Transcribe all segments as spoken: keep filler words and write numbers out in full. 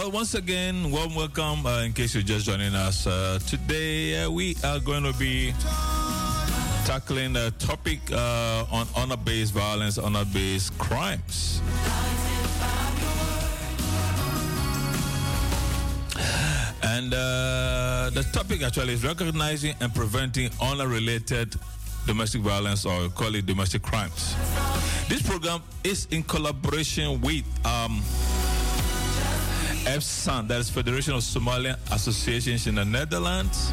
Well, once again, warm welcome. Uh, in case you're just joining us uh, today, uh, we are going to be tackling a topic uh, on honor-based violence, honor-based crimes. And uh, the topic actually is recognizing and preventing honor-related domestic violence, or call it domestic crimes. This program is in collaboration with um, F S A N, that is Federation of Somalian Associations in the Netherlands.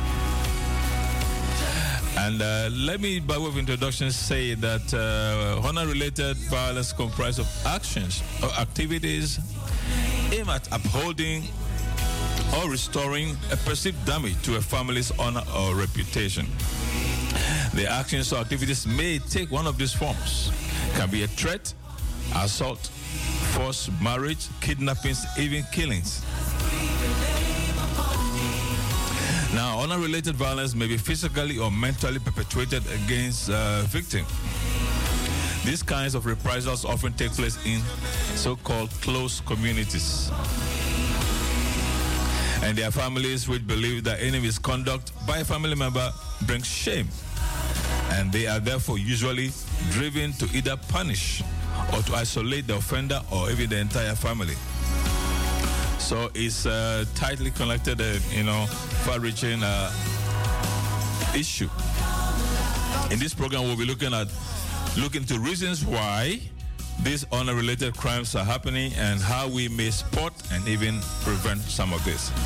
And uh, let me, by way of introduction, say that uh, honor-related violence comprises of actions or activities aimed at upholding or restoring a perceived damage to a family's honor or reputation. The actions or activities may take one of these forms. It can be a threat, assault, forced marriage, kidnappings, even killings. Now, honor-related violence may be physically or mentally perpetrated against a victim. These kinds of reprisals often take place in so-called close communities. And their families which believe that any misconduct by a family member brings shame. And they are therefore usually driven to either punish or to isolate the offender or even the entire family. So it's a tightly connected, uh, you know, far-reaching uh, issue. In this program, we'll be looking at looking into reasons why these honor-related crimes are happening and how we may spot and even prevent some of this.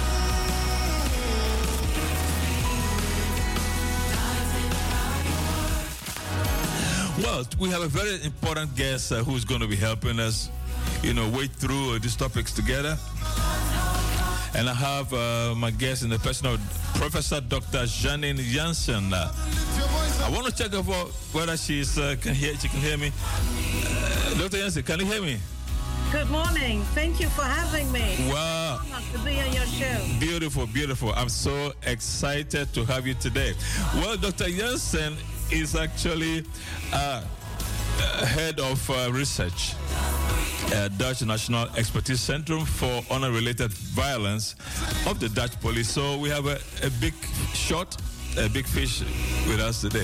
Well, we have a very important guest uh, who's going to be helping us, you know, wade through uh, these topics together. And I have uh, my guest in the person of Professor Doctor Janine Jansen. Uh, I want to check out whether she's uh, can hear. She can hear me. Uh, Doctor Jansen, can you hear me? Good morning. Thank you for having me. Wow. To be on your show. Beautiful, beautiful. I'm so excited to have you today. Well, Doctor Jansen is actually uh, head of uh, research at Dutch National Expertise Centrum for Honor-Related Violence of the Dutch Police. So we have a, a big shot, a big fish with us today.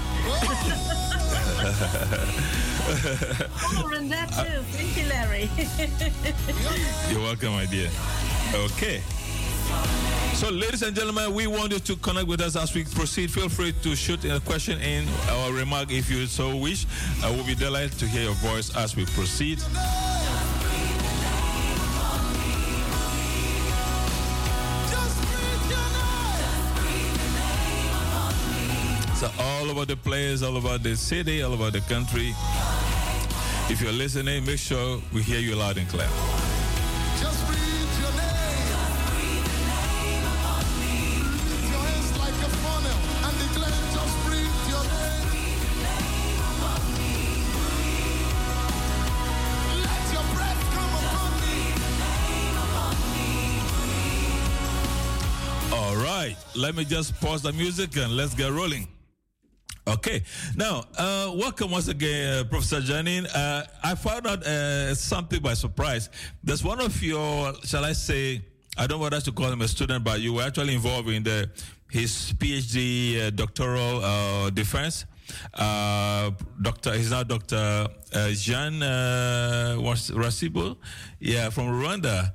Oh, and that too. Thank you, Larry. You're welcome, my dear. Okay. So, ladies and gentlemen, we want you to connect with us as we proceed. Feel free to shoot a question in or remark if you so wish. I will be delighted to hear your voice as we proceed. So, all over the place, all over the city, all over the country. If you're listening, make sure we hear you loud and clear. Just breathe your name. Lift your hands like a funnel and declare, just breathe your name. Let your breath come upon me. All right, let me just pause the music and let's get rolling. Okay, now, uh, welcome once again, uh, Professor Janine. Uh, I found out uh, something by surprise. There's one of your, shall I say, I don't want us to call him a student, but you were actually involved in the his PhD uh, doctoral uh, defense. Uh, Doctor, he's now Doctor uh, Jean uh, Rasibo, yeah, from Rwanda.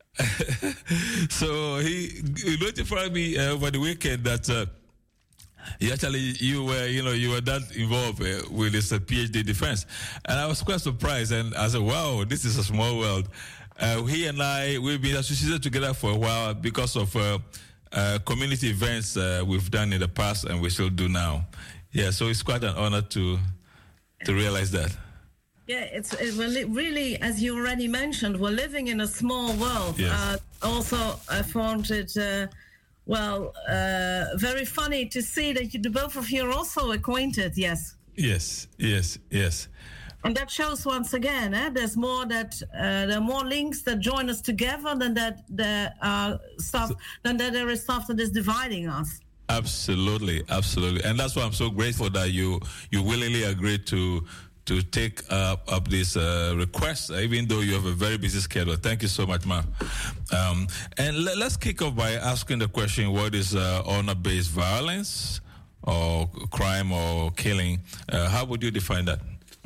So he, he notified me uh, over the weekend that. Uh, You actually, you were, you know, you were that involved uh, with this uh, PhD defense, and I was quite surprised. And I said, "Wow, this is a small world." Uh, he and I, we've been associated together for a while because of uh, uh, community events uh, we've done in the past, and we still do now. Yeah, so it's quite an honor to to realize that. Yeah, it's it, well, it really, as you already mentioned, we're living in a small world. Yes. Uh, also, I found it. Uh, Well, uh, very funny to see that you, the both of you are also acquainted, yes. Yes, yes, yes. And that shows once again, eh, there's more that uh, there are more links that join us together than that there are stuff so, than that there is stuff that is dividing us. Absolutely, absolutely, and that's why I'm so grateful that you you willingly agreed to to take uh, up this uh, request, even though you have a very busy schedule. Thank you so much, ma. Um, and le- let's kick off by asking the question: what is uh, honor-based violence, or crime, or killing? Uh, how would you define that?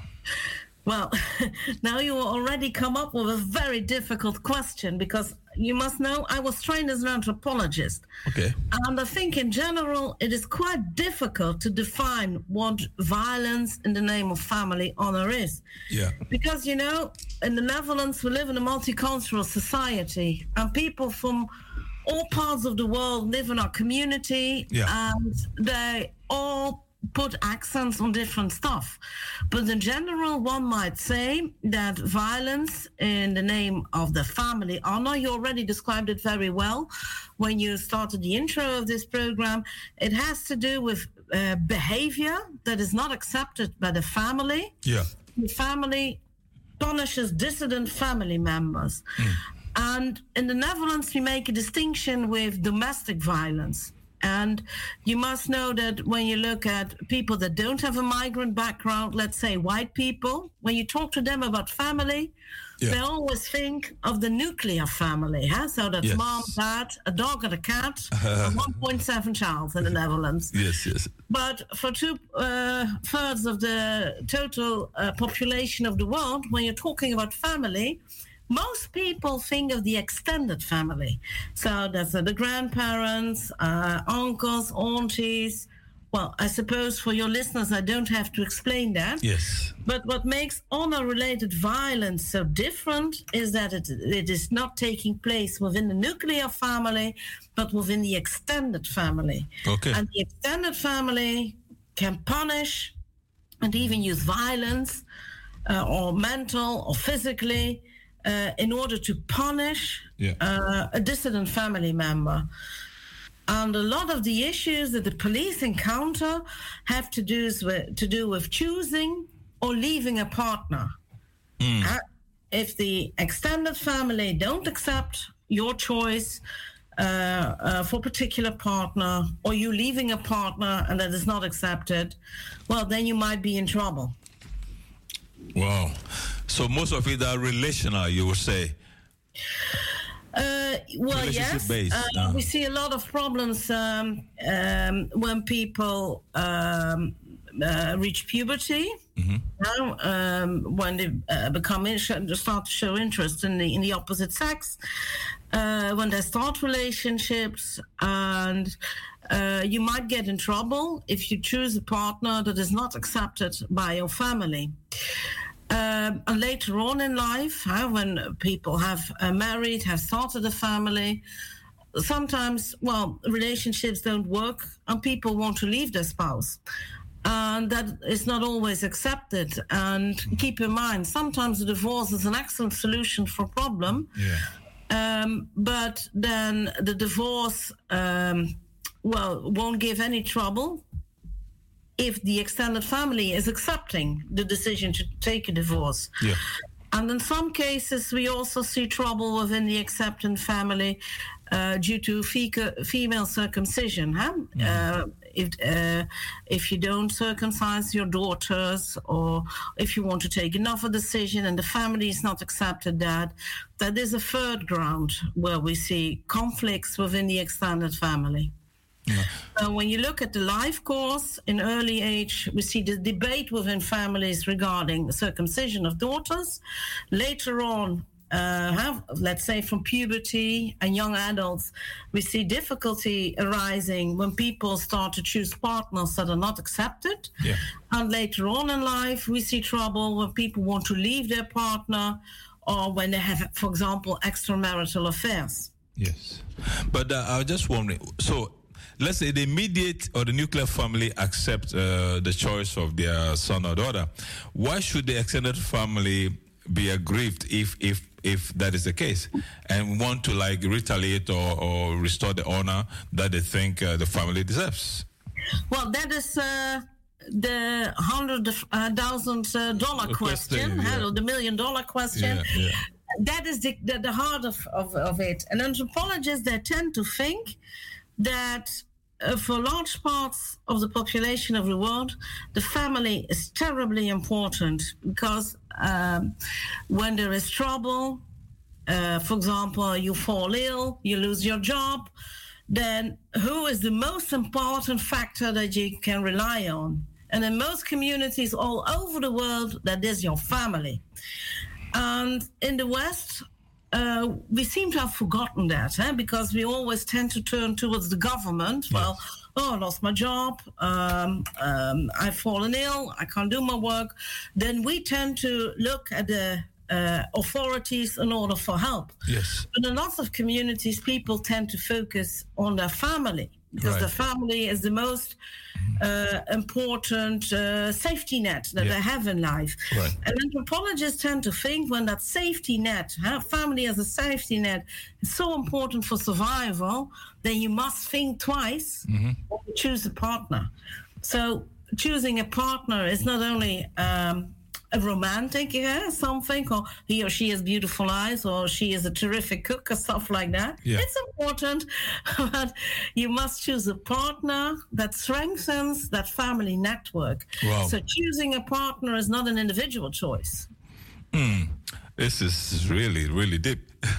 Well, now you already come up with a very difficult question, because you must know I was trained as an anthropologist. Okay. And I think in general it is quite difficult to define what violence in the name of family honor is. Yeah. Because, you know, in the Netherlands we live in a multicultural society, and people from all parts of the world live in our community, Yeah. and they all put accents on different stuff. But in general, one might say that violence in the name of the family honor, you already described it very well when you started the intro of this program, it has to do with uh, behavior that is not accepted by the family. Yeah. The family punishes dissident family members. Mm. And in the Netherlands, we make a distinction with domestic violence. And you must know that when you look at people that don't have a migrant background, let's say white people, when you talk to them about family, yeah. they always think of the nuclear family. Huh? So that's yes. mom, dad, a dog and a cat, and one point seven child in the Netherlands. Yes, yes. But for two uh, thirds of the total uh, population of the world, when you're talking about family, most people think of the extended family. So that's uh, the grandparents, uh, uncles, aunties. Well, I suppose for your listeners, I don't have to explain that. Yes. But what makes honor-related violence so different is that it, it is not taking place within the nuclear family, but within the extended family. Okay. And the extended family can punish and even use violence, uh, or mental or physically, Uh, in order to punish yeah. uh, a dissident family member. And a lot of the issues that the police encounter have to do with, to do with choosing or leaving a partner. Mm. Uh, if the extended family don't accept your choice uh, uh, for a particular partner, or you leaving a partner and that is not accepted, well, then you might be in trouble. Wow. So most of it are relational, you would say? Uh, well, yes. Based, uh, uh. We see a lot of problems um, um, when people um, uh, reach puberty. Mm-hmm. Now, um, when they uh, become in- start to show interest in the in the opposite sex, uh, when they start relationships, and uh, you might get in trouble if you choose a partner that is not accepted by your family. Um, and later on in life, huh, when people have uh, married, have started a family, sometimes, well, relationships don't work and people want to leave their spouse. And that is not always accepted. And keep in mind, sometimes a divorce is an excellent solution for a problem. Yeah. Um, but then the divorce, um, well, won't give any trouble if the extended family is accepting the decision to take a divorce. Yeah. And in some cases, we also see trouble within the accepting family uh, due to fe- female circumcision. Huh? Mm-hmm. Uh, if, uh, if you don't circumcise your daughters, or if you want to take another decision and the family is not accepted that, that is a third ground where we see conflicts within the extended family. Yeah. Uh, when you look at the life course in early age, we see the debate within families regarding circumcision of daughters. Later on, uh, have, let's say from puberty and young adults, we see difficulty arising when people start to choose partners that are not accepted. Yeah. And later on in life, we see trouble when people want to leave their partner, or when they have, for example, extramarital affairs. Yes. But uh, I was just wondering, so let's say the immediate or the nuclear family accept uh, the choice of their son or daughter. Why should the extended family be aggrieved if if if that is the case, and want to like retaliate or, or restore the honor that they think uh, the family deserves? Well, that is uh, the hundred thousand uh, dollar question, yeah. Hello, the million dollar question. Yeah, yeah. That is the, the, the heart of, of, of it. And anthropologists, they tend to think that uh, for large parts of the population of the world, the family is terribly important because um, when there is trouble, uh, for example, you fall ill, you lose your job, then who is the most important factor that you can rely on? And in most communities all over the world, that is your family. And in the West, uh, we seem to have forgotten that, eh? Because we always tend to turn towards the government. Yes. Well, oh, I lost my job, um, um, I've fallen ill, I can't do my work. Then we tend to look at the uh, authorities in order for help. Yes. But in lots of communities, people tend to focus on their family because right. the family is the most uh, important uh, safety net that yeah. they have in life. Right. And anthropologists tend to think when that safety net, huh, family as a safety net, is so important for survival, then you must think twice mm-hmm. when you choose a partner. So choosing a partner is not only um, a romantic, yeah, something, or he or she has beautiful eyes, or she is a terrific cook, or stuff like that. Yeah. It's important, but you must choose a partner that strengthens that family network. Wow. So choosing a partner is not an individual choice. Mm. This is really, really deep.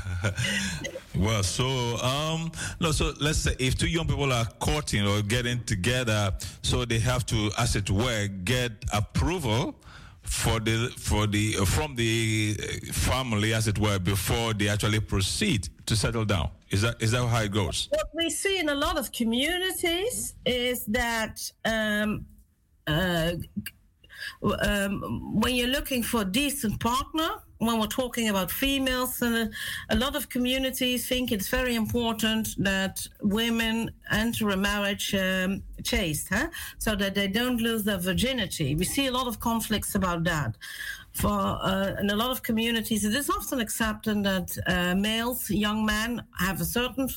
Well, so um, no, so let's say if two young people are courting or getting together, so they have to, as it were, get approval for the for the from the family, as it were, before they actually proceed to settle down. Is that is that how it goes? What we see in a lot of communities is that um, uh, um, when you're looking for a decent partner, when we're talking about females, uh, a lot of communities think it's very important that women enter a marriage um, chaste, huh? So that they don't lose their virginity. We see a lot of conflicts about that. For uh, in a lot of communities, it is often accepted that uh, males, young men, have a certain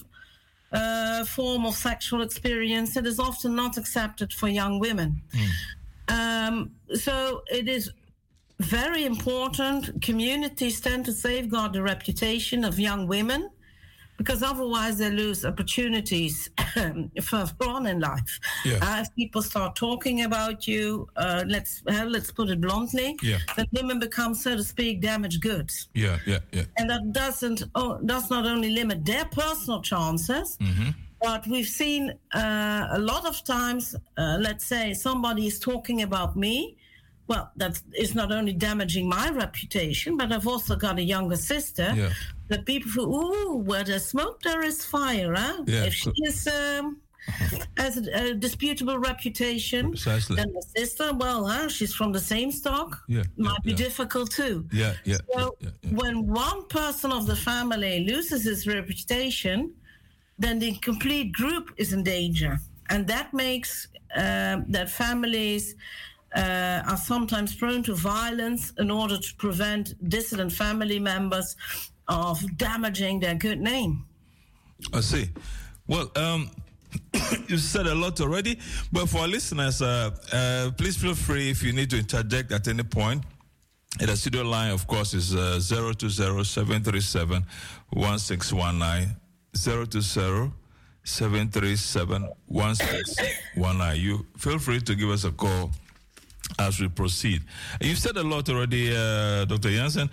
uh, form of sexual experience. It is often not accepted for young women. Mm. Um, so it is very important. Communities tend to safeguard the reputation of young women because otherwise they lose opportunities further on in life. Yeah. Uh, if people start talking about you, uh, let's uh, let's put it bluntly, yeah. that women become, so to speak, damaged goods. Yeah, yeah, yeah. And that doesn't oh, does not only limit their personal chances, mm-hmm. but we've seen uh, a lot of times, uh, let's say somebody is talking about me. Well, that is not only damaging my reputation, but I've also got a younger sister. Yeah. That people feel, ooh, where there's smoke, there is fire. Huh? Yeah. If she is, um, has a, a disputable reputation, Precisely. then my sister, well, huh, she's from the same stock, yeah, might yeah, be yeah. difficult too. Yeah, yeah. So yeah, yeah, yeah. when one person of the family loses his reputation, then the complete group is in danger. And that makes uh, that families Uh, are sometimes prone to violence in order to prevent dissident family members of damaging their good name. I see. Well, um, you said a lot already, but for our listeners, uh, uh, please feel free if you need to interject at any point. And the studio line, of course, is uh, zero two zero, seven three seven, one six one nine, zero two zero, seven three seven, one six one nine. You feel free to give us a call as we proceed. You've said a lot already, uh, Doctor Jansen,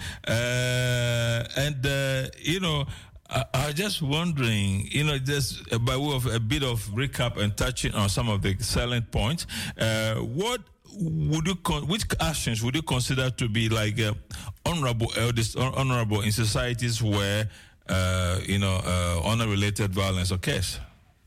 uh, and uh, you know, I, I was just wondering, you know, just by way of a bit of recap and touching on some of the salient points, uh, what would you con- which actions would you consider to be like uh, honorable, uh, honorable in societies where uh, you know uh, honor-related violence occurs?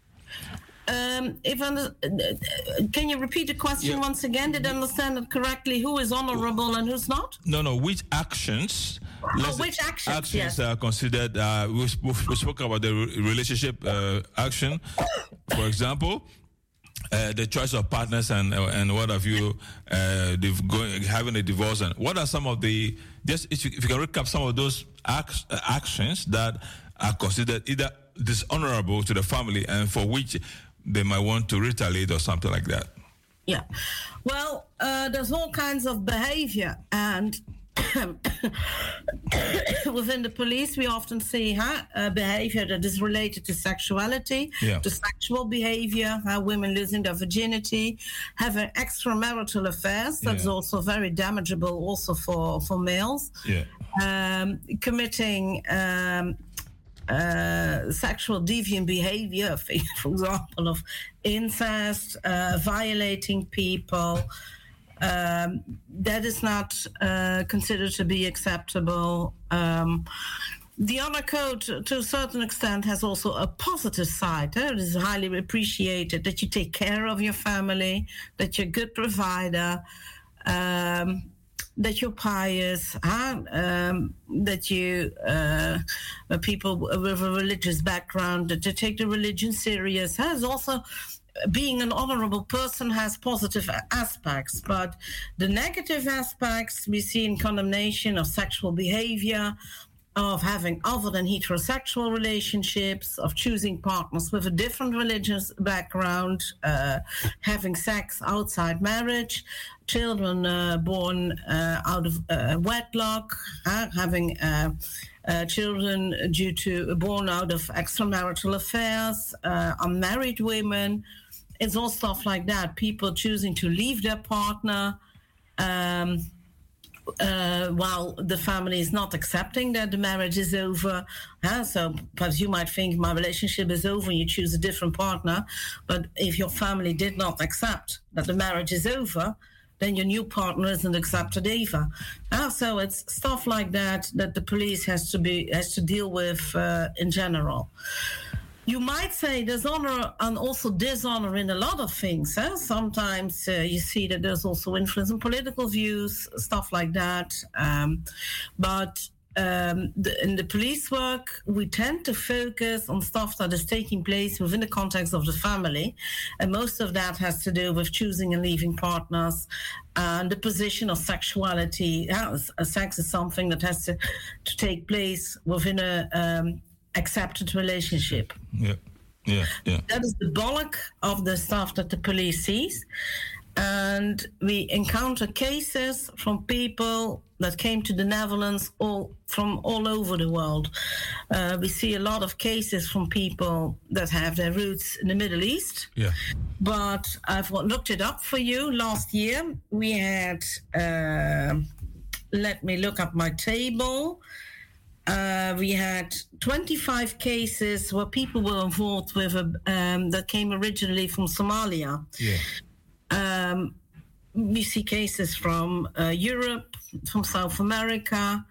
Um, if under, uh, can you repeat the question yeah. once again? Did I understand it correctly? Who is honorable and who's not? No, no. Which actions? Oh, which actions? Actions yes. are considered. Uh, we, sp- we spoke about the re- relationship uh, action, for example. Uh, the choice of partners and uh, and what have you, uh, going, having a divorce, and what are some of the just if you, if you can recap some of those act, uh, actions that are considered either dishonorable to the family and for which they might want to retaliate or something like that. Yeah, well, uh, there's all kinds of behavior, and within the police, we often see huh, uh, behavior that is related to sexuality, Yeah. to sexual behavior, how women losing their virginity, having extramarital affairs. That's Yeah. also very damageable, also for for males. Yeah. Um, committing um, uh, sexual deviant behavior, for example, of incest, uh, violating people. Um, that is not uh, considered to be acceptable. Um, the honor code, to a certain extent, has also a positive side. Eh? It is highly appreciated that you take care of your family, that you're a good provider, um, that you're pious, huh? um, that you, uh, people with a religious background, that you take the religion serious. Huh? It's also being an honorable person has positive aspects, but the negative aspects we see in condemnation of sexual behavior, of having other than heterosexual relationships, of choosing partners with a different religious background, uh, having sex outside marriage, children uh, born uh, out of uh, wedlock, uh, having uh, uh, children due to born out of extramarital affairs, uh, unmarried women. It's all stuff like that. People choosing to leave their partner um, uh, while the family is not accepting that the marriage is over. Huh? So perhaps you might think my relationship is over and you choose a different partner. But if your family did not accept that the marriage is over, then your new partner isn't accepted either. Uh, so it's stuff like that that the police has to be has to deal with uh, in general. You might say there's honor and also dishonor in a lot of things. Eh? Sometimes uh, you see that there's also influence in political views, stuff like that. Um, but um, the, in the police work, we tend to focus on stuff that is taking place within the context of the family. And most of that has to do with choosing and leaving partners and the position of sexuality. Yeah, sex is something that has to, to take place within a... Um, accepted relationship. Yeah, yeah, yeah. That is the bulk of the stuff that the police sees. And we encounter cases from people that came to the Netherlands all from all over the world. Uh, we see a lot of cases from people that have their roots in the Middle East. Yeah. But I've looked it up for you. Last year we had, uh, let me look up my table. Uh, we had twenty-five cases where people were involved with a, um, that came originally from Somalia. Yeah. Um, we see cases from uh, Europe, from South America,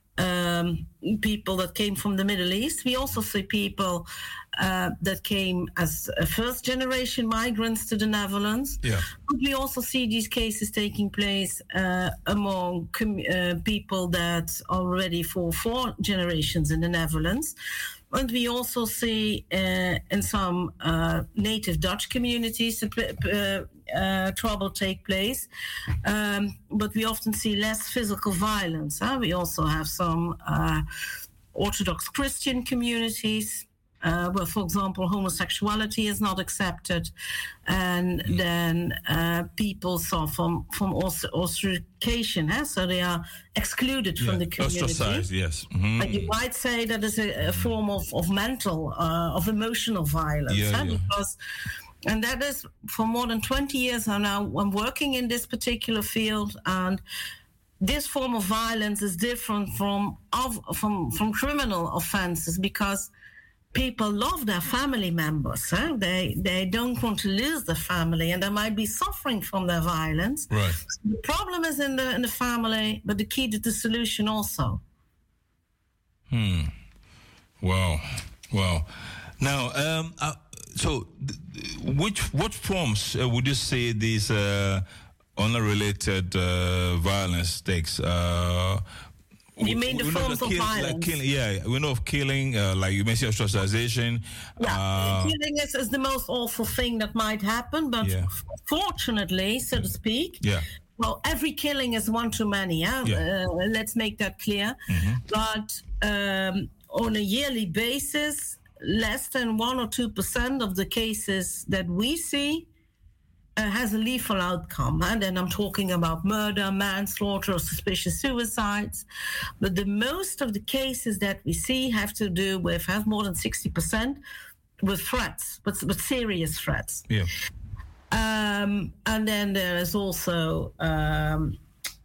um, people that came from the Middle East. We also see people uh, that came as uh, first-generation migrants to the Netherlands. Yeah. But we also see these cases taking place uh, among com- uh, people that are already for four generations in the Netherlands. And we also see uh, in some uh, native Dutch communities uh, uh, trouble take place. Um, but we often see less physical violence. Huh? We also have some uh, Orthodox Christian communities uh, where, for example, homosexuality is not accepted. And mm. then uh, people suffer from, from ostracism. Huh? So they are excluded yeah. from the community. Ostracized, yes. Mm-hmm. And you might say that is a, a form of, of mental, uh, of emotional violence. Yeah, huh? yeah. Because, and that is for more than twenty years now. I'm working in this particular field, and this form of violence is different from of, from from criminal offenses because people love their family members. Huh? They they don't want to lose their family, and they might be suffering from their violence. Right. So the problem is in the in the family, but the key to the solution also. Hmm. Wow. Wow. Now, um, uh, so th- which what forms uh, would you say these uh, honor-related uh, violence takes? Uh, You mean the we know forms the of kill, violence? Like killing, yeah, we know of killing, uh, like you mentioned, ostracization. Yeah, Uh, killing is, is the most awful thing that might happen, but Yeah. fortunately, so to speak, yeah. well, every killing is one too many. Yeah, Yeah. Uh, let's make that clear. But um, on a yearly basis, less than one or two percent of the cases that we see uh, has a lethal outcome. And then I'm talking about murder, manslaughter, or suspicious suicides. But the most of the cases that we see have to do with, have more than sixty percent, with threats, with, with serious threats. Yeah. Um, and then there is also um,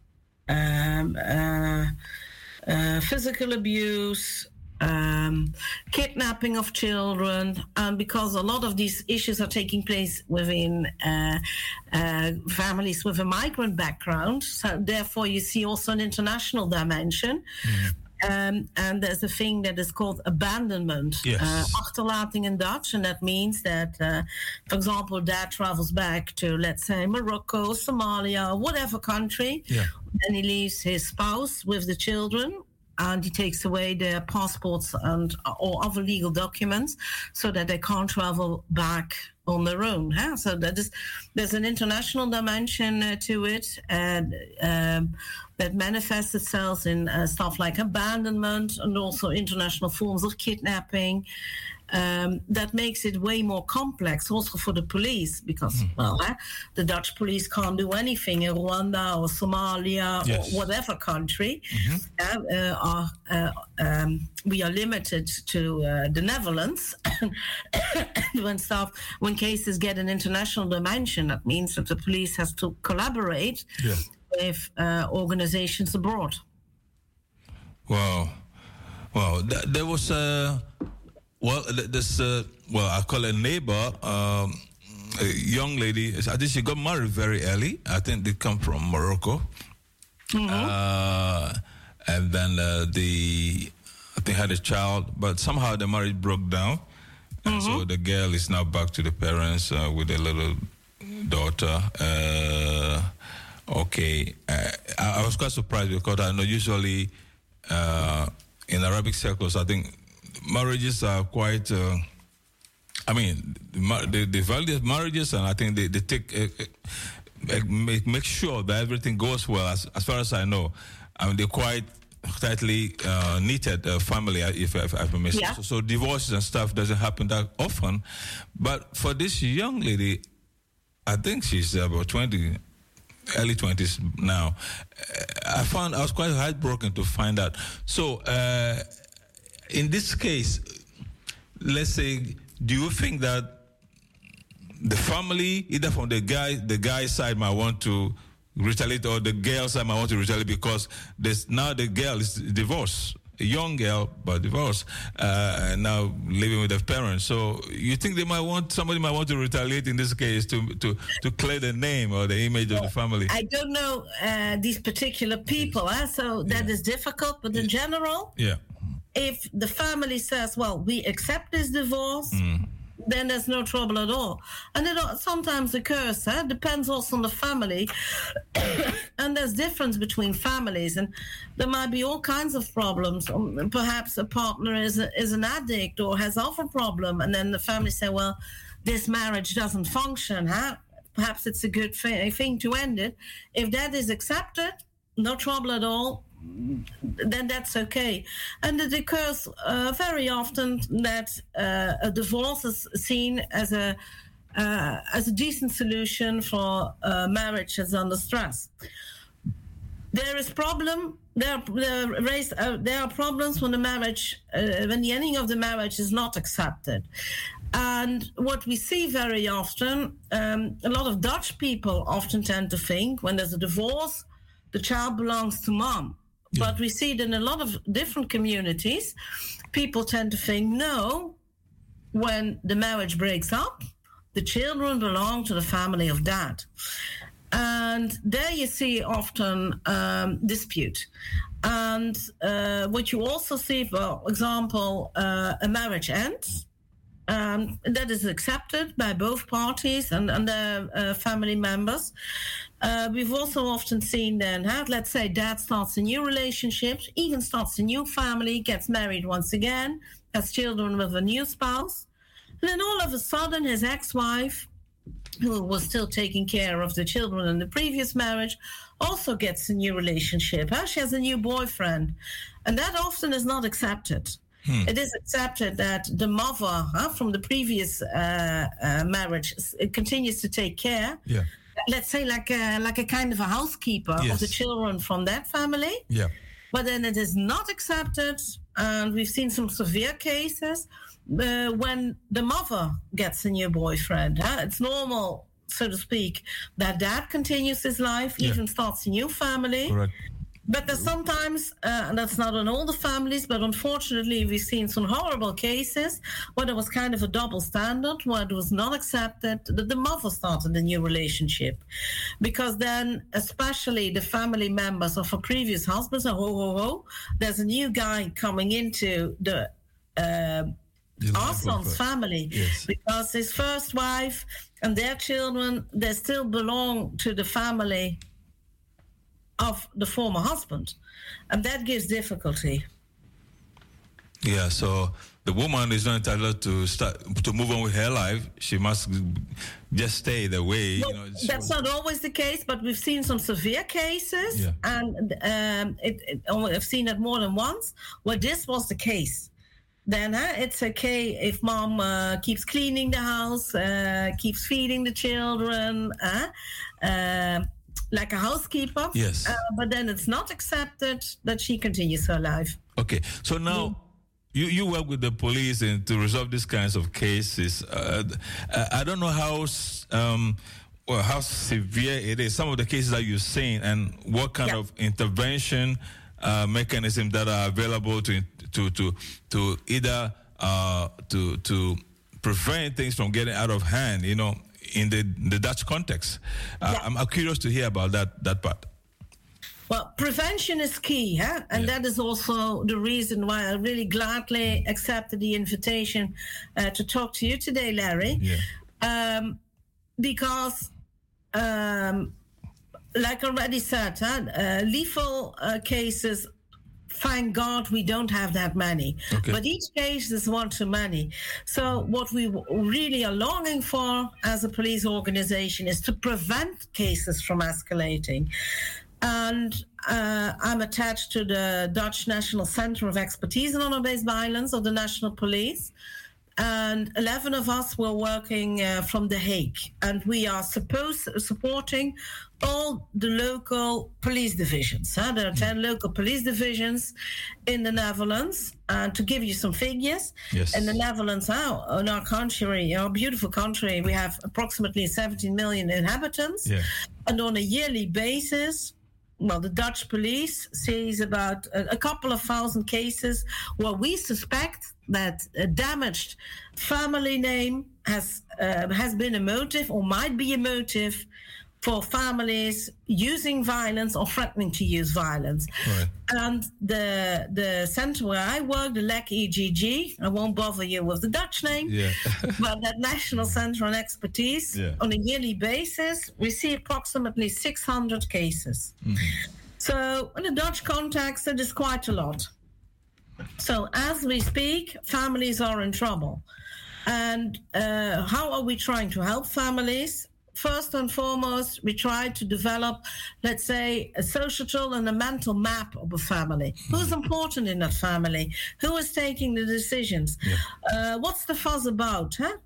um, uh, uh, physical abuse, um, kidnapping of children, and because a lot of these issues are taking place within uh, uh, families with a migrant background, so therefore you see also an international dimension. Mm. Um, and there's a thing that is called abandonment, yes. uh, achterlating in Dutch, and that means that, uh, for example, dad travels back to, let's say, Morocco, Somalia, whatever country, yeah. and he leaves his spouse with the children, and he takes away their passports and or other legal documents so that they can't travel back on their own. Huh? So that is, there's an international dimension uh, to it, and um, that manifests itself in uh, stuff like abandonment and also international forms of kidnapping. Um, that makes it way more complex also for the police because, mm. well, eh, the Dutch police can't do anything in Rwanda or Somalia yes. or whatever country. Mm-hmm. Uh, uh, are, uh, um, we are limited to uh, the Netherlands. when stuff, when cases get an international dimension, that means that the police has to collaborate yeah. with uh, organizations abroad. Wow. Wow. Th- there was a... Well, this, uh, well, I call it a neighbor, um, a young lady. I think she got married very early. I think they come from Morocco. Mm-hmm. Uh, and then uh, the, I think had a child, but somehow the marriage broke down. And mm-hmm. so the girl is now back to the parents uh, with a little daughter. Uh, okay. Uh, I, I was quite surprised because I know usually uh, in Arabic circles, I think, marriages are quite, uh, I mean, they, they value marriages, and I think they, they take, uh, uh, make, make sure that everything goes well, as, as far as I know. I mean, they're quite tightly uh, knitted uh, family, if, if I may say. Yeah. So, so divorces and stuff doesn't happen that often. But for this young lady, I think she's about twenty, early twenties now. I found, I was quite heartbroken to find out. So, uh, in this case, let's say, do you think that the family, either from the guy, the guy's side might want to retaliate, or the girl's side might want to retaliate because there's now the girl is divorced, a young girl but divorced, uh, and now living with her parents. So you think they might want, somebody might want to retaliate in this case to to to clear the name or the image well, of the family? I don't know uh, these particular people, eh? so that yeah. is difficult. But in yeah. general, yeah. if the family says, well, we accept this divorce, mm. then there's no trouble at all. And it sometimes occurs, eh? Depends also on the family. And there's difference between families. And there might be all kinds of problems. Um, perhaps a partner is, a, is an addict or has other problem. And then the family say, well, this marriage doesn't function. Huh? Perhaps it's a good thing to end it. If that is accepted, no trouble at all. Then that's okay. And it occurs uh, very often that uh, a divorce is seen as a uh, as a decent solution for uh, marriage that's under stress. There is problem. There, there, raised, uh, there are problems when the marriage, uh, when the ending of the marriage is not accepted. And what we see very often, um, a lot of Dutch people often tend to think when there's a divorce, the child belongs to mom. Yeah. But we see it in a lot of different communities. People tend to think, no, when the marriage breaks up, the children belong to the family of dad. And there you see often um, dispute. And uh, what you also see, for example, uh, a marriage ends. Um, that is accepted by both parties and, and their uh, family members. Uh, we've also often seen then, huh, let's say dad starts a new relationship, even starts a new family, gets married once again, has children with a new spouse. And then all of a sudden his ex-wife, who was still taking care of the children in the previous marriage, also gets a new relationship. Huh? She has a new boyfriend. And that often is not accepted. Hmm. It is accepted that the mother huh, from the previous uh, uh, marriage uh, continues to take care. Yeah. Let's say like a, like a kind of a housekeeper Yes. of the children from that family. Yeah. But then it is not accepted, and we've seen some severe cases uh, when the mother gets a new boyfriend. Huh? It's normal, so to speak, that dad continues his life, Yeah. even starts a new family. Correct. But there's sometimes, uh, and that's not in all the families, but unfortunately we've seen some horrible cases where there was kind of a double standard, where it was not accepted that the mother started a new relationship. Because then, especially the family members of her previous husbands, are, ho, ho, ho, there's a new guy coming into the uh, our son's family. Yes. Because his first wife and their children, they still belong to the family of the former husband, and that gives difficulty. Yeah, so the woman is not entitled to start to move on with her life. She must just stay the way. Well, you know, it's- that's not always the case, but we've seen some severe cases, Yeah. and um, it, it, oh, I've seen it more than once where this was the case. Then uh, it's okay if mom uh, keeps cleaning the house, uh, keeps feeding the children, uh, uh, like a housekeeper. Yes. Uh, but then it's not accepted that she continues her life. Okay, so now you, you work with the police and to resolve these kinds of cases. Uh, I don't know how s- um, well, how severe it is. Some of the cases that you've seen, and what kind Yeah. of intervention uh, mechanisms that are available to to to to either uh, to to prevent things from getting out of hand. You know, in the the Dutch context. Uh, Yeah. I'm, I'm curious to hear about that that part. Well, prevention is key, huh? And Yeah. that is also the reason why I really gladly accepted the invitation uh, to talk to you today, Larry. Yeah. Um, because, um, like I already said, huh, uh, lethal uh, cases, thank God we don't have that many. Okay. But each case is one too many. So what we w- really are longing for as a police organization is to prevent cases from escalating. And uh, I'm attached to the Dutch National Center of Expertise in Honor-Based Violence of the National Police. And eleven of us were working uh, from The Hague. And we are supposed supporting all the local police divisions. Huh? There are ten local police divisions in the Netherlands. And to give you some figures, Yes. in the Netherlands, huh, in our country, our beautiful country, we have approximately seventeen million inhabitants. Yeah. And on a yearly basis, well, the Dutch police sees about a, a couple of thousand cases where we suspect that a damaged family name has uh, has been a motive or might be a motive for families using violence or threatening to use violence. Right. And the the center where I work, the L E C E G G, I won't bother you with the Dutch name, Yeah. but that National Center on Expertise, Yeah. on a yearly basis, we see approximately six hundred cases. So in the Dutch context, it is quite a lot. So as we speak, families are in trouble. And uh, how are we trying to help families? First and foremost, we try to develop, let's say, a social and a mental map of a family. Who's important in that family? Who is taking the decisions? Uh, what's the fuss about? Huh?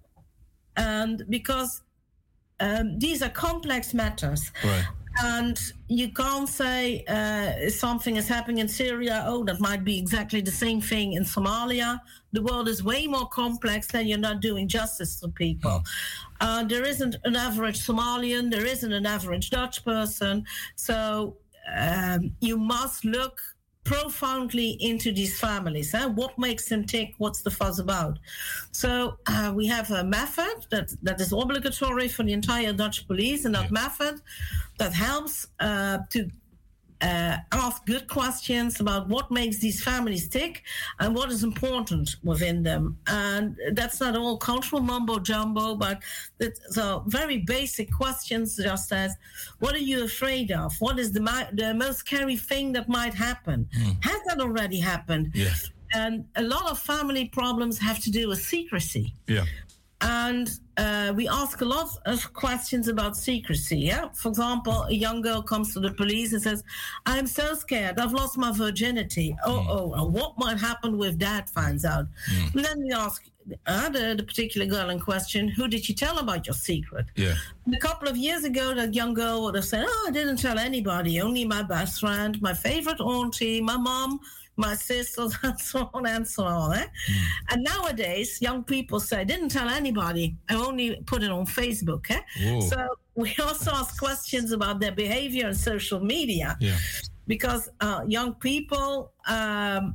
And because um, these are complex matters. Right. And you can't say uh, something is happening in Syria, oh, that might be exactly the same thing in Somalia. The world is way more complex than you're not doing justice to people. Uh, there isn't an average Somalian, there isn't an average Dutch person. So um, you must look profoundly into these families. Huh? What makes them tick? What's the fuss about? So uh, we have a method that, that is obligatory for the entire Dutch police, and that Yeah. method that helps uh, to uh, ask good questions about what makes these families tick and what is important within them. And that's not all cultural mumbo jumbo, but it's so very basic questions, just as what are you afraid of? What is the, mi- the most scary thing that might happen? Has that already happened? Yes. And a lot of family problems have to do with secrecy. Yeah. And uh, we ask a lot of questions about secrecy. Yeah, for example, a young girl comes to the police and says, "I'm so scared. I've lost my virginity. Oh, oh, oh what might happen if Dad finds out?" Mm. And then we ask uh, the, the particular girl in question, "Who did you tell about your secret?" Yeah. And a couple of years ago, that young girl would have said, "Oh, I didn't tell anybody. Only my best friend, my favorite auntie, my mom, my sisters," and so on and so on. Eh? Mm. And nowadays, young people say, "I didn't tell anybody. I only put it on Facebook." Eh? So we also ask questions about their behavior on social media. Yeah. Because uh, young people, um,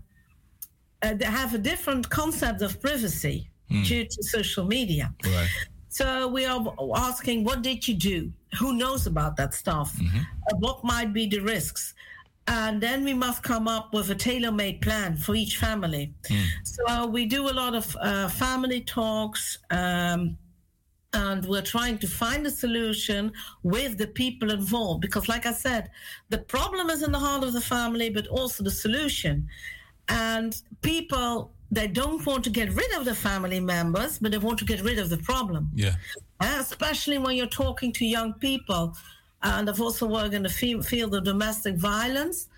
uh, they have a different concept of privacy mm. due to social media. Right. So we are asking, what did you do? Who knows about that stuff? Mm-hmm. Uh, what might be the risks? And then we must come up with a tailor-made plan for each family. Mm. So we do a lot of uh, family talks, um, and we're trying to find a solution with the people involved. Because like I said, the problem is in the heart of the family, but also the solution. And people, they don't want to get rid of the family members, but they want to get rid of the problem. Yeah. Uh, especially when you're talking to young people. And I've also worked in the field of domestic violence.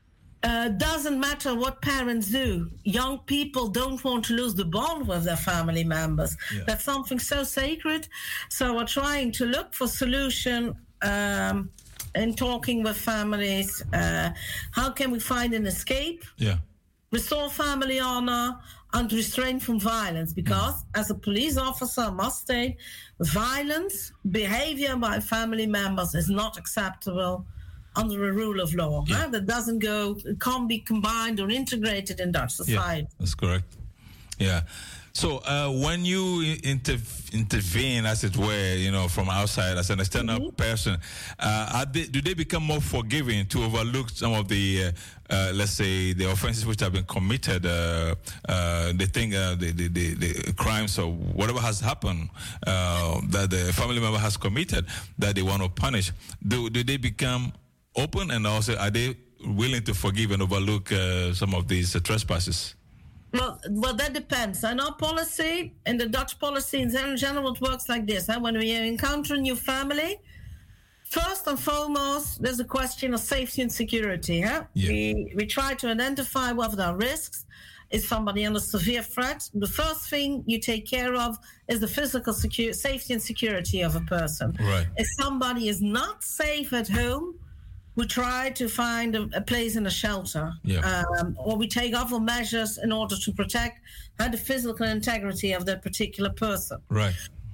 Uh, doesn't matter what parents do. Young people don't want to lose the bond with their family members. Yeah. That's something so sacred. So we're trying to look for solution um, in talking with families. Uh, how can we find an escape? Yeah. Restore family honor and restrain from violence. Because mm. as a police officer, I must state, violence, behavior by family members is not acceptable under a rule of law. Yeah. Huh? That doesn't go, it can't be combined or integrated in Dutch society. Yeah, that's correct. Yeah. So uh, when you inter- intervene, as it were, you know, from outside as an external mm-hmm. person, uh, are they, do they become more forgiving to overlook some of the, uh, uh, let's say, the offenses which have been committed, uh, uh, the thing, uh, the, the, the, the crimes or whatever has happened uh, that the family member has committed that they want to punish? Do, do they become open, and also are they willing to forgive and overlook uh, some of these uh, trespasses? Well, well, that depends. And our policy, in the Dutch policy in general, it works like this. Huh? When we encounter a new family, first and foremost, there's a question of safety and security. Huh? Yeah. We, we try to identify what are the risks. Is somebody under severe threat? The first thing you take care of is the physical secu- safety and security of a person. Right. If somebody is not safe at home, we try to find a, a place in a shelter, yeah. um, or we take other measures in order to protect uh, the physical integrity of that particular person. Right.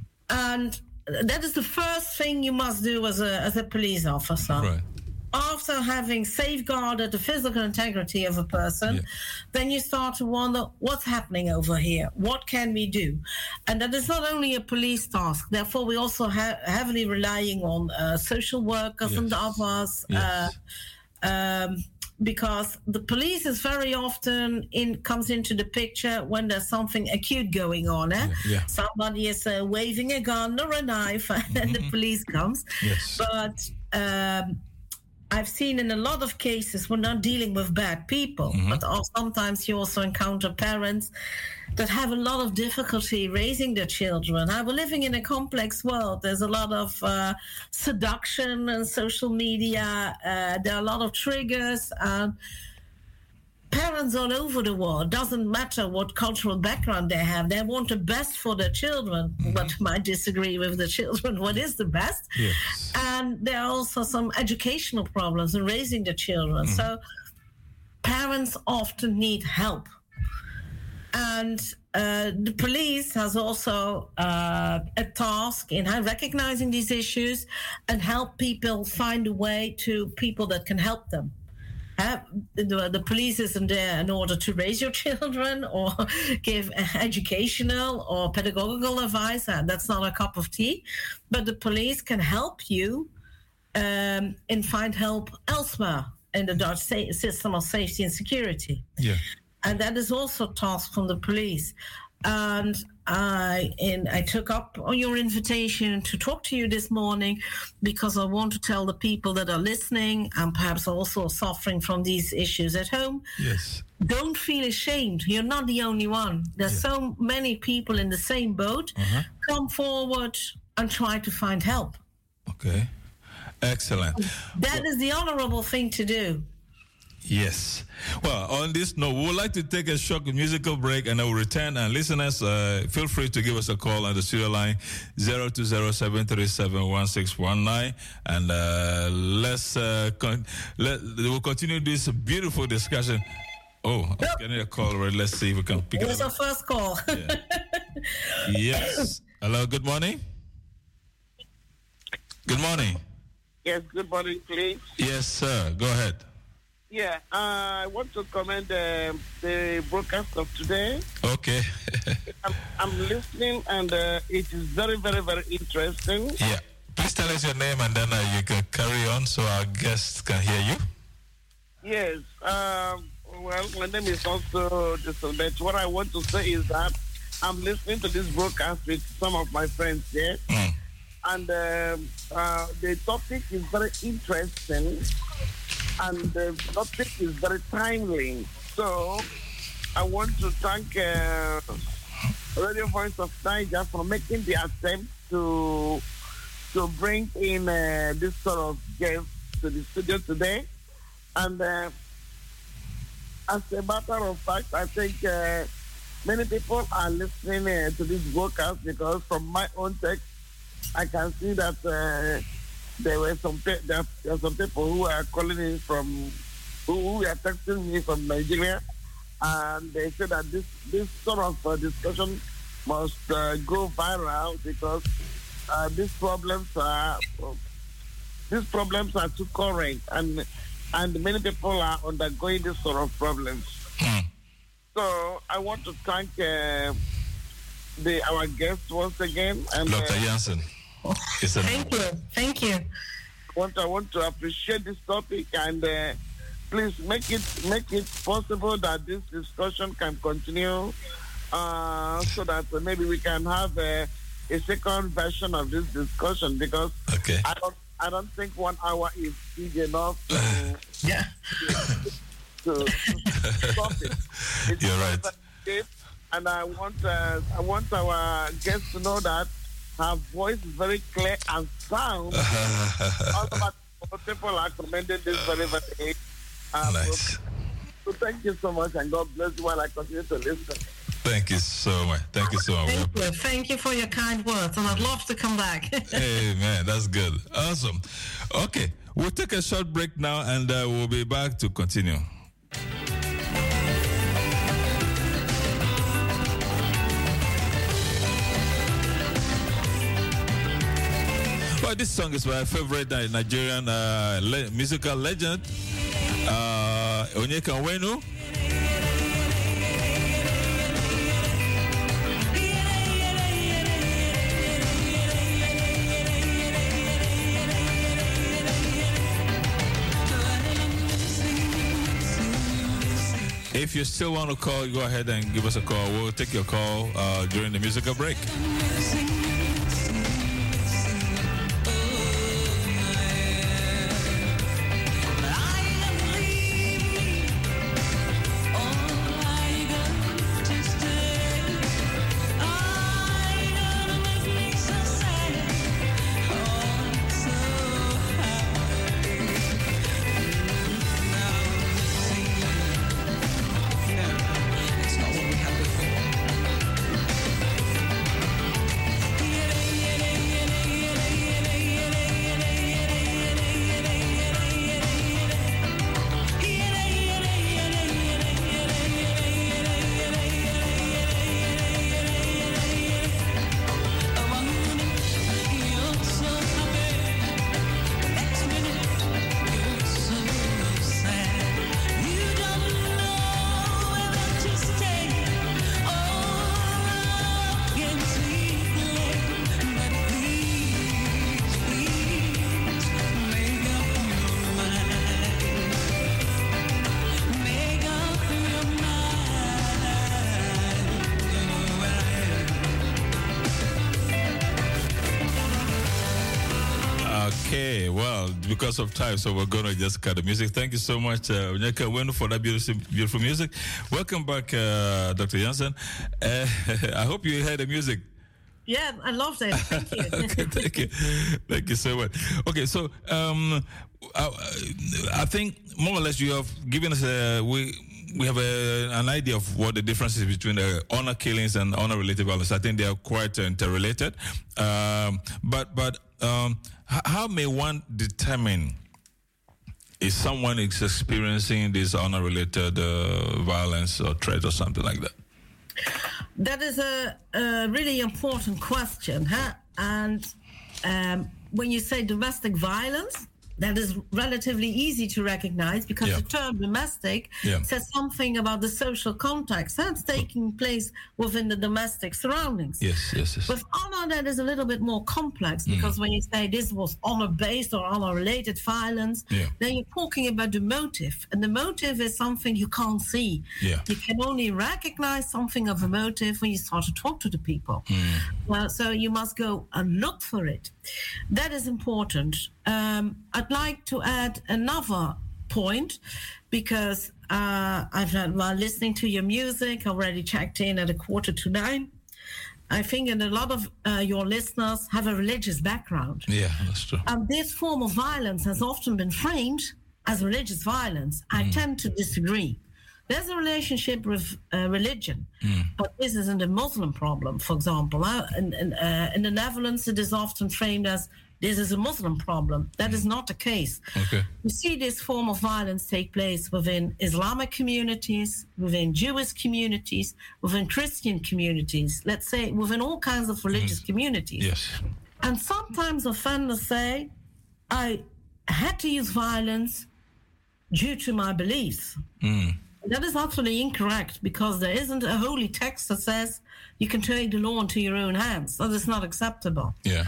And that is the first thing you must do as a as a police officer. Right. After having safeguarded the physical integrity of a person, yeah. then you start to wonder, what's happening over here? What can we do? And that is not only a police task. Therefore, we also ha- heavily relying on uh, social workers yes. and others. Yes. Uh, um, because the police is very often in comes into the picture when there's something acute going on. Eh? Yeah, yeah. Somebody is uh, waving a gun or a knife, and then the police comes. Yes. But um, I've seen in a lot of cases we're not dealing with bad people, mm-hmm. but sometimes you also encounter parents that have a lot of difficulty raising their children. We're living in a complex world. There's a lot of uh, seduction and social media. Uh, there are a lot of triggers. And parents all over the world, doesn't matter what cultural background they have, they want the best for their children, mm-hmm. but might disagree with the children what is the best. Yes. And there are also some educational problems in raising the children. Mm-hmm. So parents often need help. And uh, the police has also uh, a task in recognizing these issues and help people find a way to people that can help them. Uh, the, the police isn't there in order to raise your children or give educational or pedagogical advice. Uh, that's not a cup of tea. But the police can help you um, and find help elsewhere in the Dutch sa- system of safety and security. Yeah. And that is also a task from the police. and I in I took up on your invitation to talk to you this morning because I want to tell the people that are listening and perhaps also suffering from these issues at home. Yes. Don't feel ashamed. You're not the only one. There's Yeah. so many people in the same boat. Uh-huh. Come forward and try to find help. Okay. Excellent. That is the honorable thing to do. Yes. Well, on this note, we would like to take a short musical break and I will return. And listeners, uh, feel free to give us a call on the studio line zero two zero, seven three seven, one six one nine. And uh, let's uh, con- let, we'll continue this beautiful discussion. Oh, I'm Yep. getting a call already. Let's see if we can pick It it was up. our first call. Yeah. Yes. Hello, good morning. Good morning. Yes, good morning, please. Yes, sir. Go ahead. Yeah, uh, I want to commend uh, the broadcast of today. Okay. I'm, I'm listening, and uh, it is very, very, very interesting. Yeah. Please tell us your name and then uh, you can carry on so our guests can hear you. Yes. Um, well, my name is also Jason, but what I want to say is that I'm listening to this broadcast with some of my friends here, Mm. and um, uh, the topic is very interesting, and the topic is very timely. So I want to thank uh, Radio Voice of Niger for making the attempt to to bring in uh, this sort of guest to the studio today. And uh, as a matter of fact, I think uh, many people are listening uh, to this broadcast because from my own text, I can see that uh, there were some pe- there are some people who are calling in from who, who are texting me from Nigeria, and they say that this this sort of uh, discussion must uh, go viral because uh, these problems are these problems are too current, and and many people are undergoing this sort of problems. Mm. So I want to thank uh, the our guests once again, and uh, Doctor Jansen. It's a- Thank you. Thank you. want I want to appreciate this topic, and uh, please make it make it possible that this discussion can continue, uh, so that uh, maybe we can have a, a second version of this discussion, because Okay. I don't I don't think one hour is big enough to Yeah. to, to stop it. It's You're right. sensitive, and I want uh, I want our guests to know that her voice is very clear and sound. All about people are commending this very very. Uh, Nice. So thank you so much, and God bless you while I continue to listen. Thank you so much. Thank you so much. Thank you. Thank you for your kind words, and I'd love to come back. Hey, man, that's good. Awesome. Okay, we'll take a short break now and uh, we'll be back to continue. Well, this song is my favorite uh, Nigerian uh, le- musical legend, uh, Onyeka Onwenu. If you still want to call, go ahead and give us a call. We'll take your call uh, during the musical break. Okay, well, because of time, so we're going to just cut the music. Thank you so much, uh, Onyeka Wenu, for that beautiful, beautiful music. Welcome back, uh, Doctor Jansen. Uh, I hope you heard the music. Yeah, I loved it. Thank you. Okay, thank you. Thank you so much. Okay, so um, I, I think more or less you have given us a... We, We have a, an idea of what the difference is between the honor killings and honor-related violence. I think they are quite uh, interrelated. Um, but but um, h- how may one determine if someone is experiencing this honor-related uh, violence or threat or something like that? That is a, a really important question, huh? And um, when you say domestic violence, that is relatively easy to recognize because Yeah. the term domestic Yeah. says something about the social context that's taking place within the domestic surroundings. Yes, yes, yes. With honor, that is a little bit more complex because when you say this was honor-based or honor-related violence, Yeah. then you're talking about the motive. And the motive is something you can't see. Yeah. You can only recognize something of a motive when you start to talk to the people. Well, so you must go and look for it. That is important. Um, I'd like to add another point because uh, I've had, while listening to your music, already checked in at a quarter to nine. I think that a lot of uh, your listeners have a religious background. Yeah, that's true. And this form of violence has often been framed as religious violence. I tend to disagree. There's a relationship with uh, religion, but this isn't a Muslim problem, for example. Uh, in, in, uh, in the Netherlands, it is often framed as this is a Muslim problem. That is not the case. Okay. You see this form of violence take place within Islamic communities, within Jewish communities, within Christian communities, let's say within all kinds of religious communities. Yes. And sometimes offenders say, I had to use violence due to my beliefs. That is absolutely incorrect because there isn't a holy text that says you can take the law into your own hands. That is not acceptable. Yeah.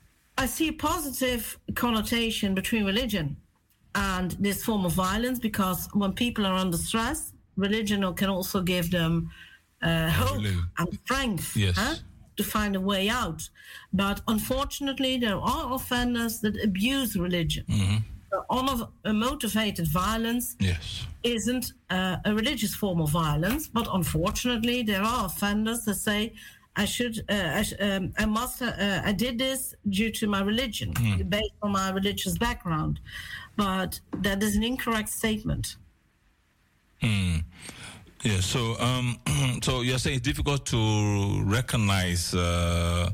I see a positive connotation between religion and this form of violence because when people are under stress, religion can also give them uh, hope Really? and strength Yes. huh, to find a way out. But unfortunately, there are offenders that abuse religion. The honor-motivated violence Yes. isn't uh, a religious form of violence, but unfortunately, there are offenders that say, "I should, uh, I, sh- um, I must, uh, I did this due to my religion, based on my religious background," but that is an incorrect statement. Yeah. So, um, so you're saying it's difficult to recognize uh,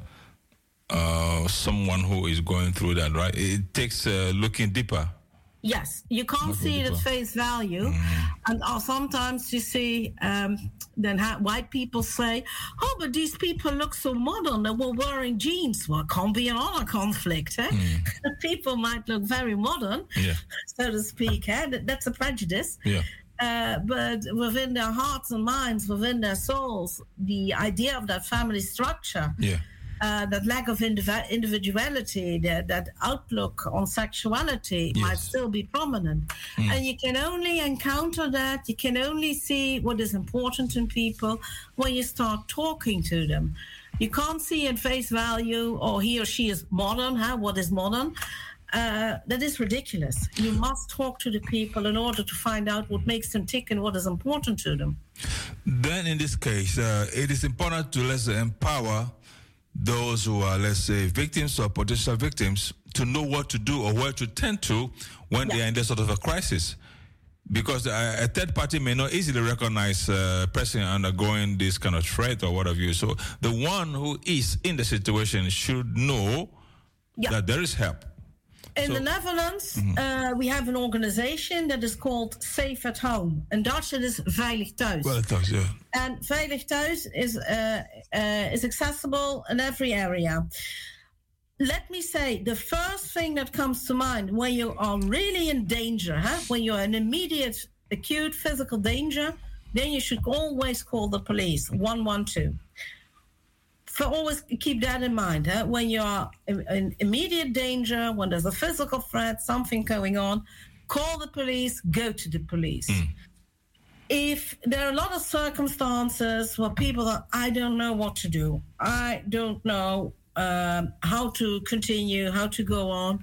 uh, someone who is going through that, right? It takes uh, looking deeper. Yes, you can't Not see it at really face value, and uh, sometimes you see um, then ha- white people say, "Oh, but these people look so modern. They were wearing jeans." Well, it can't be an honor conflict. Eh? People might look very modern, Yeah. so to speak. Eh? That- That's a prejudice. Yeah. Uh, but within their hearts and minds, within their souls, the idea of that family structure, Yeah. uh, that lack of indiv- individuality, that, that outlook on sexuality Yes. might still be prominent. And you can only encounter that, you can only see what is important in people when you start talking to them. You can't see at face value, or he or she is modern, huh? What is modern? Uh, that is ridiculous. You must talk to the people in order to find out what makes them tick and what is important to them. Then, in this case, uh, it is important to let's say, empower those who are, let's say, victims or potential victims to know what to do or where to turn to when they Yeah. are in this sort of a crisis. Because a, a third party may not easily recognize a person undergoing this kind of threat or what have you. So the one who is in the situation should know Yeah. that there is help. In So- the Netherlands, uh, we have an organization that is called Safe at Home. In Dutch, it is Veilig Thuis. Well, it does, yeah. And Veilig Thuis is, uh, uh, is accessible in every area. Let me say, the first thing that comes to mind when you are really in danger, huh? when you're in immediate, acute physical danger, then you should always call the police, one one two. For always keep that in mind. Huh? When you are in, in immediate danger, when there's a physical threat, something going on, call the police, go to the police. If there are a lot of circumstances where people are, I don't know what to do, I don't know um, how to continue, how to go on,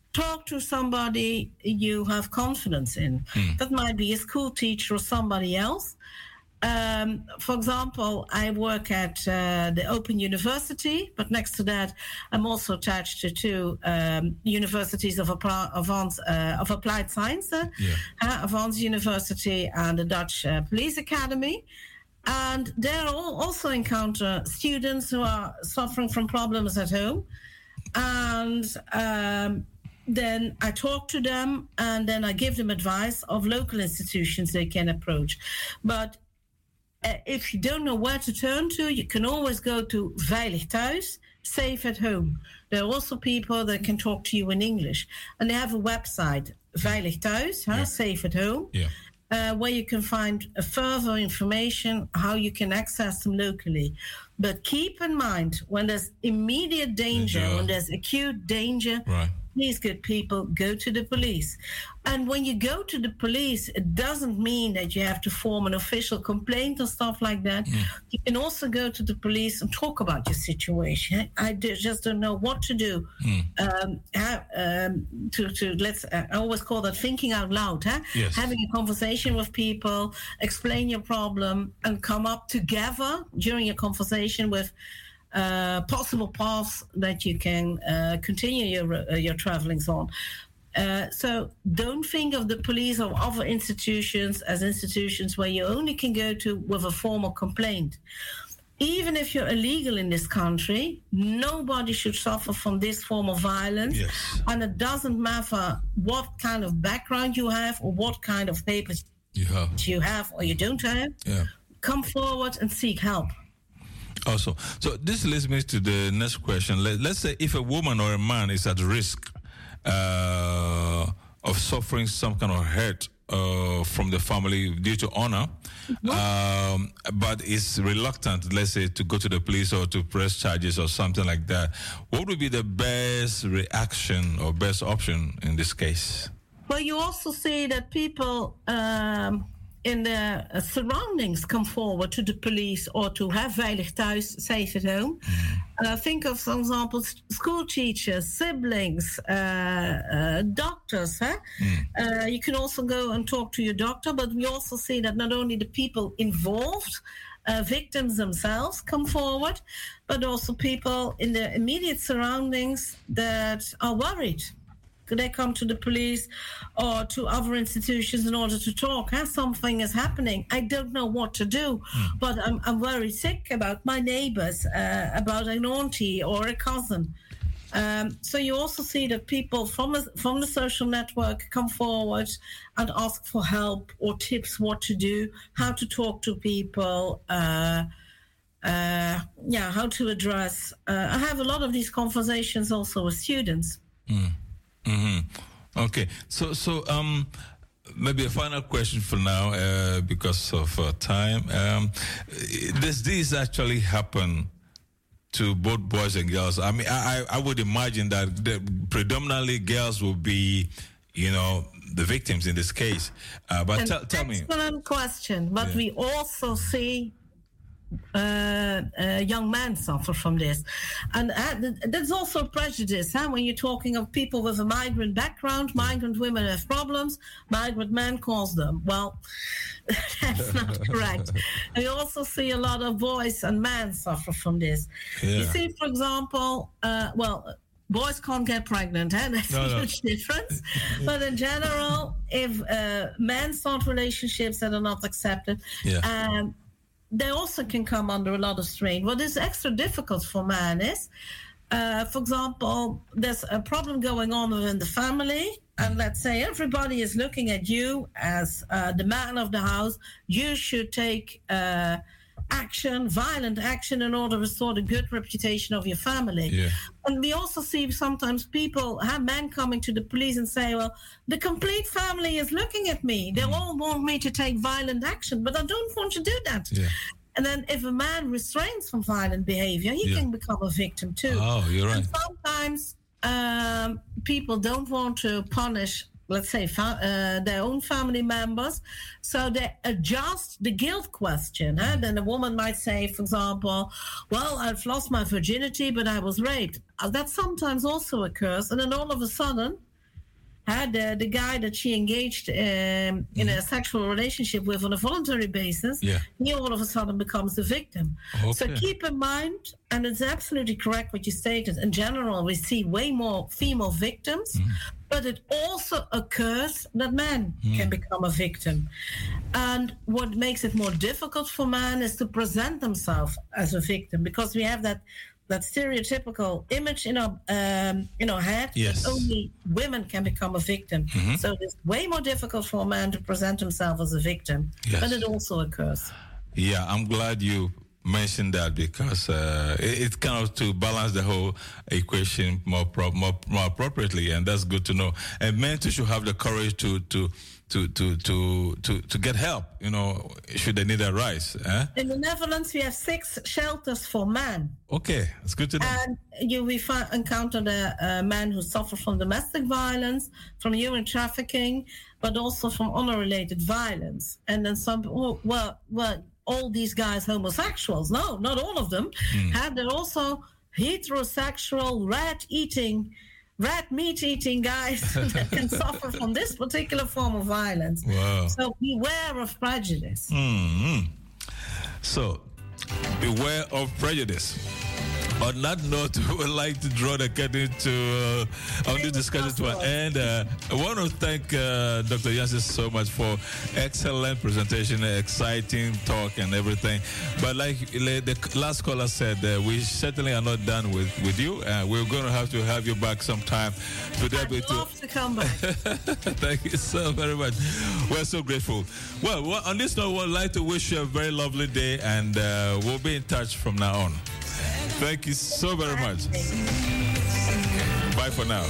talk to somebody you have confidence in. Mm. That might be a school teacher or somebody else. Um, for example, I work at uh, the Open University, but next to that, I'm also attached to two um, universities of, advanced, uh, of applied science, uh, yeah. uh, Advanced University and the Dutch uh, Police Academy. And there all also encounter students who are suffering from problems at home. And um, then I talk to them, and then I give them advice of local institutions they can approach. But Uh, if you don't know where to turn to, you can always go to Veilig Thuis, Safe at Home. There are also people that can talk to you in English. And they have a website, Veilig Thuis, huh? yeah. Safe at Home, yeah. uh, where you can find uh, further information, how you can access them locally. But keep in mind, when there's immediate danger, yeah. when there's acute danger, right. please, good people, go to the police. And when you go to the police, it doesn't mean that you have to form an official complaint or stuff like that. Mm. You can also go to the police and talk about your situation. I just don't know what to do. Mm. Um, um, to, to let's, uh, I always call that thinking out loud. Huh? Yes. Having a conversation with people, explain your problem, and come up together during your conversation with Uh, possible paths that you can uh, continue your uh, your travelings on. Uh, so don't think of the police or other institutions as institutions where you only can go to with a formal complaint. Even if you're illegal in this country, nobody should suffer from this form of violence. Yes. And it doesn't matter what kind of background you have or what kind of papers you have, you have or you don't have. Yeah. Come forward and seek help. Also, so this leads me to the next question. Let, let's say if a woman or a man is at risk uh, of suffering some kind of hurt uh, from the family due to honor, mm-hmm. um, but is reluctant, let's say, to go to the police or to press charges or something like that, what would be the best reaction or best option in this case? Well, you also see that people Um, in the uh, surroundings come forward to the police or to have Veilig Thuis, Safe at Home. Mm. Uh, think of, for example, school teachers, siblings, uh, uh, doctors. Huh? Mm. Uh, you can also go and talk to your doctor, but we also see that not only the people involved, uh, victims themselves come forward, but also people in the immediate surroundings that are worried. They come to the police or to other institutions in order to talk. Huh? Something is happening. I don't know what to do, mm. but I'm, I'm very sick about my neighbors, uh, about an auntie or a cousin. Um, so you also see that people from, a, from the social network come forward and ask for help or tips what to do, how to talk to people, uh, uh, yeah, how to address. Uh, I have a lot of these conversations also with students. Mm. Mm-hmm. Okay, so so um, maybe a final question for now, uh, because of uh, time. Um, does this actually happen to both boys and girls? I mean, I I would imagine that the, predominantly girls will be, you know, the victims in this case. Uh, but t- tell me. Excellent question. But yeah. we also see Uh, uh, young men suffer from this, and uh, there's also prejudice. Huh? When you're talking of people with a migrant background, migrant women have problems, migrant men cause them. Well, that's not correct. And you also see a lot of boys and men suffer from this. Yeah. You see, for example, uh, well, boys can't get pregnant, huh? That's no, a no. huge difference. But in general, if uh, men start relationships that are not accepted, yeah. um, they also can come under a lot of strain. What is extra difficult for men is, uh, for example, there's a problem going on within the family, and let's say everybody is looking at you as uh, the man of the house. You should take uh, action, violent action, in order to restore the good reputation of your family. Yeah. And we also see sometimes people, have men coming to the police and say, well, the complete family is looking at me. They mm. all want me to take violent action, but I don't want to do that. Yeah. And then if a man restrains from violent behavior, he yeah. can become a victim too. Oh, you're right. And sometimes um, people don't want to punish, let's say, fa- uh, their own family members. So they adjust the guilt question. Huh? Then a woman might say, for example, well, I've lost my virginity, but I was raped. Uh, that sometimes also occurs. And then all of a sudden, uh, the, the guy that she engaged um, in mm. a sexual relationship with on a voluntary basis, yeah. he all of a sudden becomes the victim. Okay. So keep in mind, and it's absolutely correct what you stated, in general, we see way more female victims, mm. but it also occurs that men mm. can become a victim. And what makes it more difficult for men is to present themselves as a victim, because we have that that stereotypical image in our um, in our head yes. that only women can become a victim. Mm-hmm. So it's way more difficult for a man to present himself as a victim, yes. but it also occurs. Yeah, I'm glad you mentioned that, because uh, it, it kind of to balance the whole equation more, pro- more more appropriately, and that's good to know. And men too should have the courage to to. To, to to to to get help, you know, should they need a rise. Eh? In the Netherlands, we have six shelters for men. Okay, it's good to know. And you we fi- encounter the uh, men who suffer from domestic violence, from human trafficking, but also from honor-related violence. And then some, oh, well, well, all these guys homosexuals? No, not all of them. Mm. And they're also heterosexual, rat-eating. red meat-eating guys that can suffer from this particular form of violence. Wow. So beware of prejudice. Mm-hmm. So, beware of prejudice. On that note, we would like to draw the curtain to uh, on this discussion to an end. Uh, I want to thank uh, Doctor Jansen so much for excellent presentation, exciting talk, and everything. But like the last caller said, uh, we certainly are not done with, with you. Uh, we're going to have to have you back sometime. To I'd love to, to come back. Thank you so very much. We're so grateful. Well, well on this note, we'd like to wish you a very lovely day, and uh, we'll be in touch from now on. Thank you so very much. Bye for now.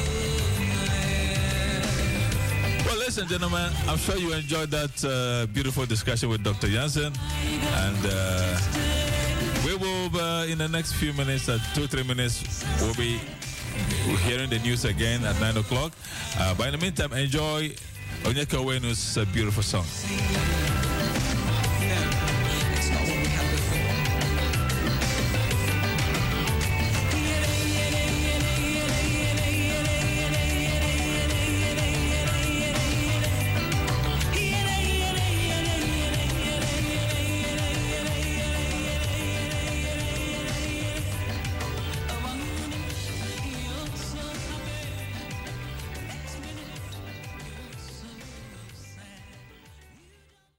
Well, ladies and gentlemen, I'm sure you enjoyed that uh, beautiful discussion with Doctor Jansen. And uh, we will, uh, in the next few minutes, uh, two, three minutes, we'll be hearing the news again at nine o'clock. Uh, but in the meantime, enjoy Onyeka Owenu's uh, beautiful song.